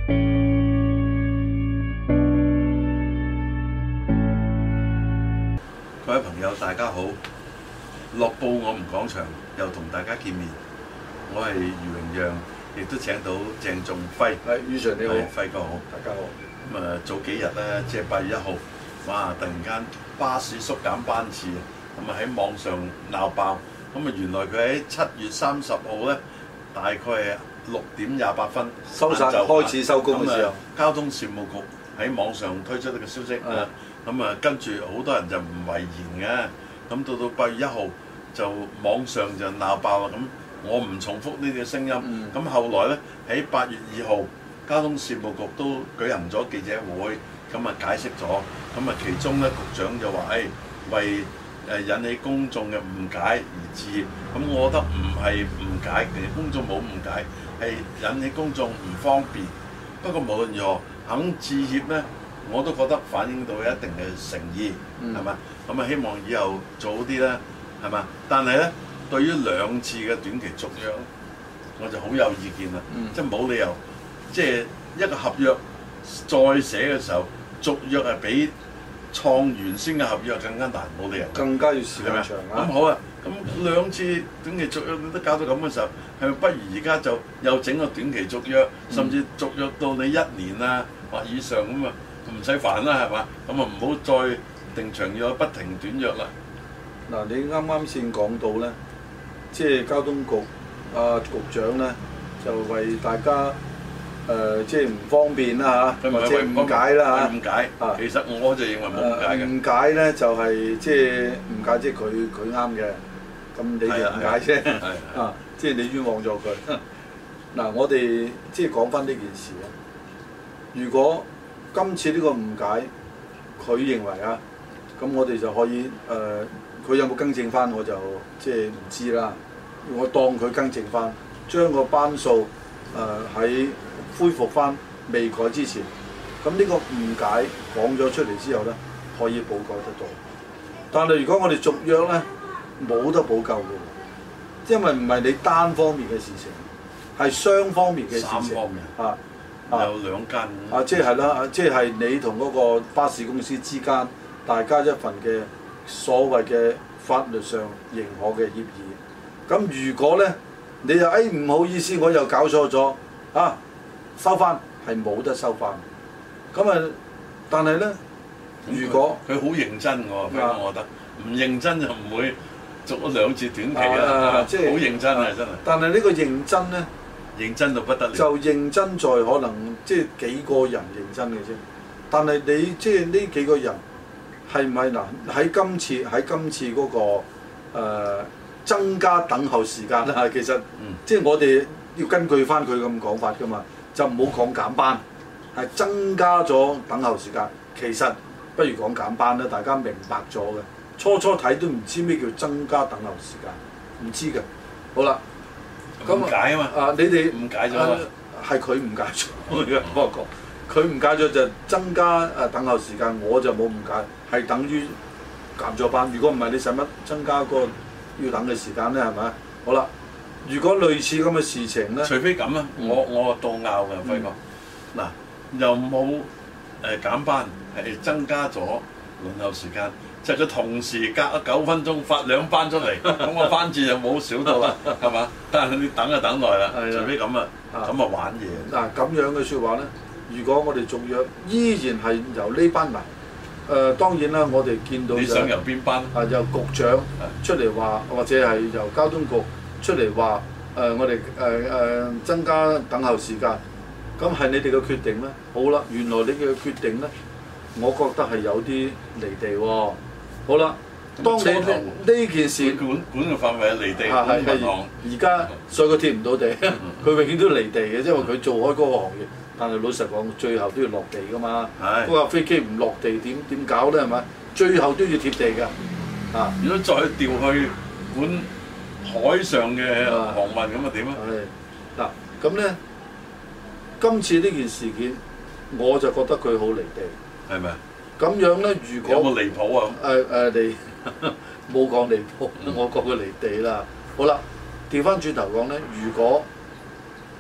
各位朋友，大家好！樂報我們講場又同大家見面，我係余榮讓，亦都請到鄭仲輝。 係，余 Sir 你好， 輝哥好， 大家好。 咁早幾日咧，即係8月1號，哇！突然間巴士縮減班次，咁喺網上鬧爆。咁原來佢喺7月30號咧，大概係6點28分收晒開始收工嘅時候， 交通事務局喺網上推出呢個消息。跟住好多人就唔諱言嘅，咁到8月1號就網上就鬧爆啦。咁我唔重複呢啲聲音。咁後來咧喺8月2號，交通事務局都舉行咗記者會，咁解釋咗。咁其中咧局長就話：為引起公眾嘅誤解而致歉。咁我覺得唔係誤解，其實公眾冇誤解，係引起公眾唔方便。不過無論如何，肯致歉咧，我都覺得反映到一定嘅誠意，係嘛？咁希望以後做好啲啦，係嘛？但係咧，對於2次嘅短期續約，我就好有意見啦。即係冇理由，即係一個合約再寫嘅時候，續約係比創原先嘅合約更加難，冇理由。更加要時間長啊！咁好啊，咁2次短期續約都搞到咁嘅時候，係咪不如而家就又整個短期續約，甚至續約到你1年啊或以上咁啊？唔使煩啦，係嘛？咁唔好再定長約不停短約啦。 嗱，你啱啱先講到咧，即係交通局局長咧，就為大家即係唔方便啦嚇，或者誤解啦嚇。誤解其實我就認為冇誤解嘅。誤解咧就係即係誤解，即係佢啱嘅。咁你哋誤解啫。即係你冤枉咗佢。嗱，我哋即係講翻呢件事啊。如果今次呢個誤解，佢認為咁我哋就可以佢有冇更正翻我就即係唔知啦。我當佢更正翻，將個班數喺恢復翻未改之前，咁呢個誤解講咗出嚟之後呢，可以補救得到。但係如果我哋續約呢，冇得補救嘅，因為唔係你單方面嘅事情，係雙方面嘅事情。3方面有2間即係啦，即係你同嗰個巴士公司之間，大家一份嘅所謂嘅法律上認可嘅協議。咁如果咧，你就唔好意思，我又搞錯咗收翻係冇得收翻。咁但係咧，如果佢好認真喎，我覺得唔認真就唔會續咗2次短期啦。即係好認真真係。但係呢個認真咧？認真到不得了，就認真在可能即係幾個人認真嘅啫。但係你即係呢幾個人係唔係嗱？喺今次嗰個增加等候時間啦，其實即係我哋要根據翻佢咁講法㗎嘛，就唔好講減班，係增加咗等候時間。其實不如講減班啦，大家明白咗嘅。初睇都唔知咩叫增加等候時間，唔知嘅。好啦。誤解啊嘛！你哋誤解咗啊！係佢誤解咗，我講佢誤解咗就增加等候時間，我就冇誤解，係等於減咗班。如果唔係，你使乜增加個要等嘅時間咧？係咪？好啦，如果類似咁嘅事情咧，除非咁啦，我倒拗嘅輝哥。嗱，又冇減班，係增加咗輪候時間。就佢同時隔咗9分鐘發2班出嚟，咁個班次就冇少到啦，係嘛？但係你等就等耐啦，除非咁咁玩嘢。嗱咁樣嘅説話咧，如果我哋續約依然係由呢班嚟，當然啦，我哋見到你想由邊班？由局長出嚟話，或者係由交通局出嚟話，我哋增加等候時間，咁係你哋嘅決定咧。好啦，原來你嘅決定咧，我覺得係有啲離地喎。好啦，當你呢件事管嘅範圍係離地，銀行而家所以佢貼唔到地，佢永遠都離地嘅，因為佢做開嗰個行業。但係老實講，最後都要落地㗎嘛。嗰架飛機唔落地點搞咧？係咪？最後都要貼地㗎。如果再調去管海上嘅航運咁啊點啊？嗱咁咧，今次呢件事件，我就覺得佢好離地，係咪？咁樣咧，如果有冇離譜啊？離冇講離譜，我講佢離地啦。好啦，調翻轉頭講咧，如果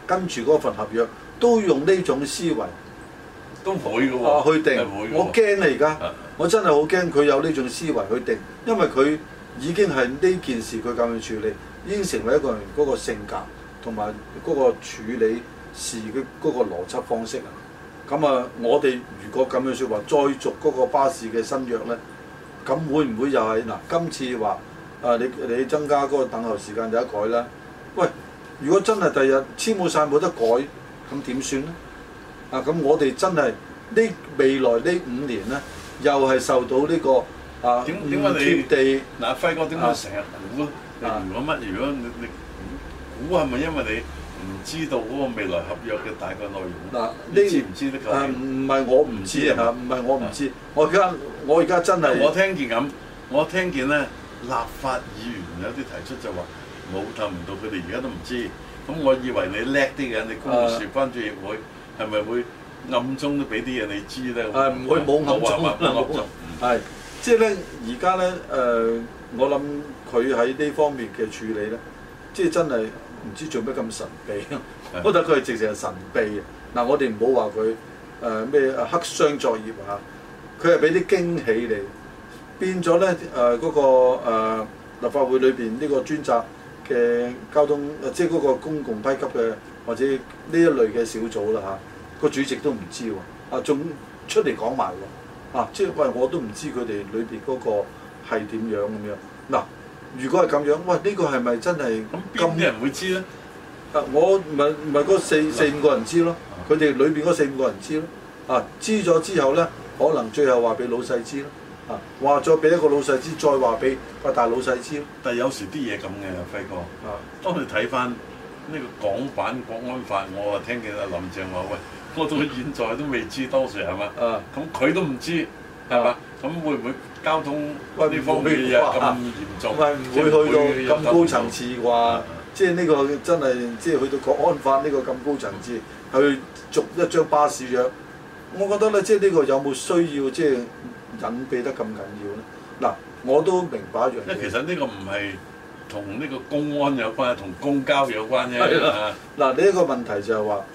跟住嗰份合約都用呢種思維， 都會嘅喎， 去定。我驚啊！而家我真係好驚佢有呢種思維去定，因為佢已經係呢件事佢咁樣處理，已經成為一個人嗰個性格同埋嗰個處理事嘅嗰個邏輯方式啊。咁啊，我哋如果咁樣説話，再續嗰個巴士嘅新約咧，咁會唔會又係嗱？今次話你增加嗰個等候時間有得改啦。喂，如果真係第日簽冇晒冇得改，咁點算咧？咁我哋真係呢未來呢5年咧，又係受到呢個點解你貼地嗱輝哥點解成日估？如果乜？如果你估係咪因為你唔知道嗰個未來合約嘅大概內容？ 嗱， 你知唔知得㗎？ 唔係我唔知啊，唔係我唔知。我而家真係我聽見咁，我聽見咧立法議員有啲提出就話冇透明度，佢哋而家都唔知。咁我以為你叻啲嘅，你公務事關注協會係咪會暗中都俾啲嘢你知咧？ 唔會冇暗中啦，係即係咧，而家咧我諗佢喺呢方面嘅處理咧，即係真係唔知做咩咁神秘。我覺得佢係直情係神秘嘅。嗱，我哋唔好話佢咩黑箱作業啊，佢係俾啲驚喜你，變咗咧嗰個立法會裏邊呢個專責嘅交通，即係嗰個公共批給嘅或者呢一類嘅小組啦嚇，個主席都唔知喎，仲出嚟講埋喎，即係喂我都唔知佢哋裏邊嗰個係點樣咁樣。嗱，如果係咁樣，喂呢個係咪真係咁？邊啲人會知咧？我唔係嗰四五個人知咯，佢哋裏邊嗰4、5個人知咯，知咗之後咧，可能最後話俾老細知咯。話再俾一個老細知，再話俾個大老細知。但係有時啲嘢咁嘅，輝哥。當你睇翻呢個港版國安法，我啊聽見阿林鄭話：喂，我到現在都未知當時係嘛？咁佢都唔知係嘛？咁會唔會交通呢方面嘅嘢咁嚴重？唔會去到咁高層次啩？即係呢個真係即係去到國安法呢個咁高層次，去續一張巴士約。我覺得咧，即係呢個有冇需要即係隱蔽得咁緊要咧？嗱，我都明白一樣嘢。因為其實呢個唔係同呢個公安有關，同公交有關啫。嗱，呢一個問題就係話，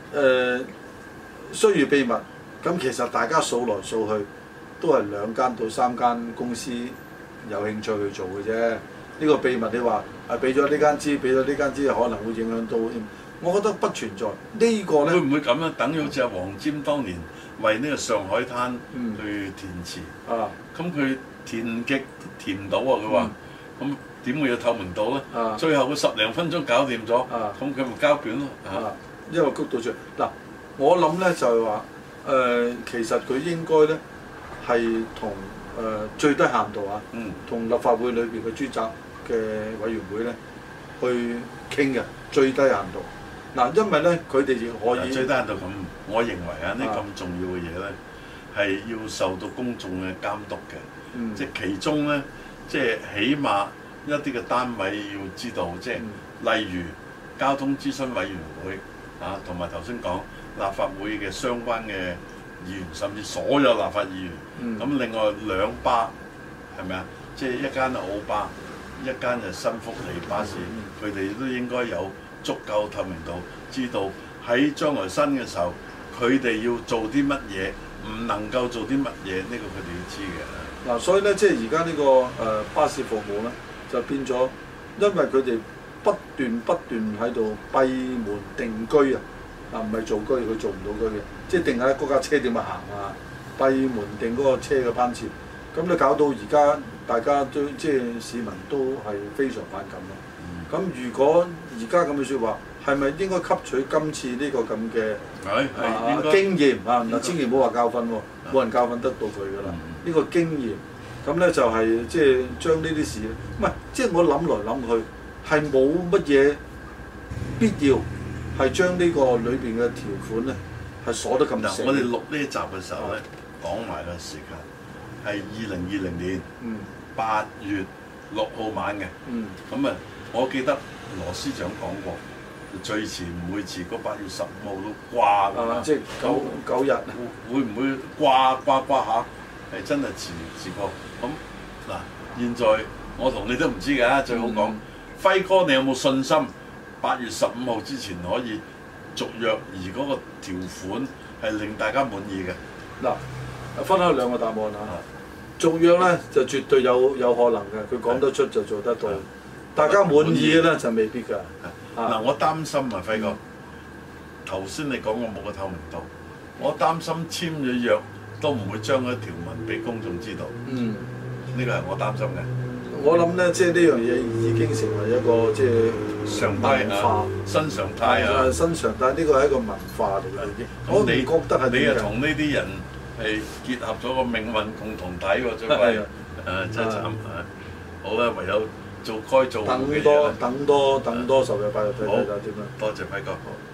需要秘密。咁其實大家數來數去，都係2間到3間公司有興趣去做嘅啫。呢個秘密你話俾咗呢間知，俾咗呢間知，可能會影響到。我覺得不存在。呢個咧會唔會咁樣？等於好似阿黃霑當年為呢個上海灘去填詞，咁佢填極填唔到啊！佢話咁點會有透明度咧？最後佢10零分鐘搞掂咗，咁佢咪交卷咯？因為谷到最嗱，我諗咧就係話其實佢應該咧係同最低限度同立法會裏邊嘅專責嘅委員會咧去傾嘅最低限度。嗱，因為咧佢哋亦可以最低限度咁，我認為呢咁重要嘅嘢咧係要受到公眾嘅監督嘅，即係其中咧即係起碼一啲嘅單位要知道，即係例如交通諮詢委員會同埋頭先講立法會嘅相關嘅議員，甚至所有立法議員。咁另外2巴係咪啊？即係一間係澳巴，一間就新福利巴士，佢哋都應該有足夠透明度，知道喺將來新嘅時候，佢哋要做啲乜嘢，唔能夠做啲乜嘢，呢個佢哋要知嘅。嗱，所以咧，即係而家呢個巴士服務咧，就變咗，因為佢哋不斷喺度閉門定居唔係做居，佢做唔到居嘅，即係定喺嗰架車點樣行閉門定嗰個車嘅班次，咁你搞到而家大家都即係市民都係非常反感咯。咁如果而家咁嘅説話，係咪應該吸取今次呢個咁嘅經驗嗱，千祈唔好話教訓喎，冇人教訓得到佢㗎啦。呢個經驗，咁咧就係即係將呢啲事，唔係即係我諗來諗去，係冇乜嘢必要係將呢個裏邊嘅條款咧係鎖得咁死。我哋錄呢一集嘅時候咧，講埋嘅時間係2020年8月6號晚嘅。咁啊，我記得羅司長講過，最遲唔會遲過8月15號都掛㗎嘛。即係9日。會唔會掛下？係真係遲過。咁嗱，現在我同你都唔知㗎，最好講。輝哥，你有冇信心8月15號之前可以續約，而嗰個條款係令大家滿意嘅。 嗱，分開兩個答案嚇。續約咧就絕對有可能嘅，佢講得出就做得到。大家滿意嘅咧就未必㗎。 嗱，我擔心啊，輝哥，頭先你講過冇個透明度，我擔心簽咗約都唔會將嗰條文俾公眾知道。呢個係我擔心嘅。我諗咧，即係呢樣嘢已經成為一個即係常態化、新常態啊！新常態呢個係一個文化嚟嘅已經。我你覺得係你又同呢啲人係結合咗個命運共同體喎，最弊真係慘啊！好啦，唯有做該做嘅嘢啦。等多10日8日睇睇點啦。多謝輝哥。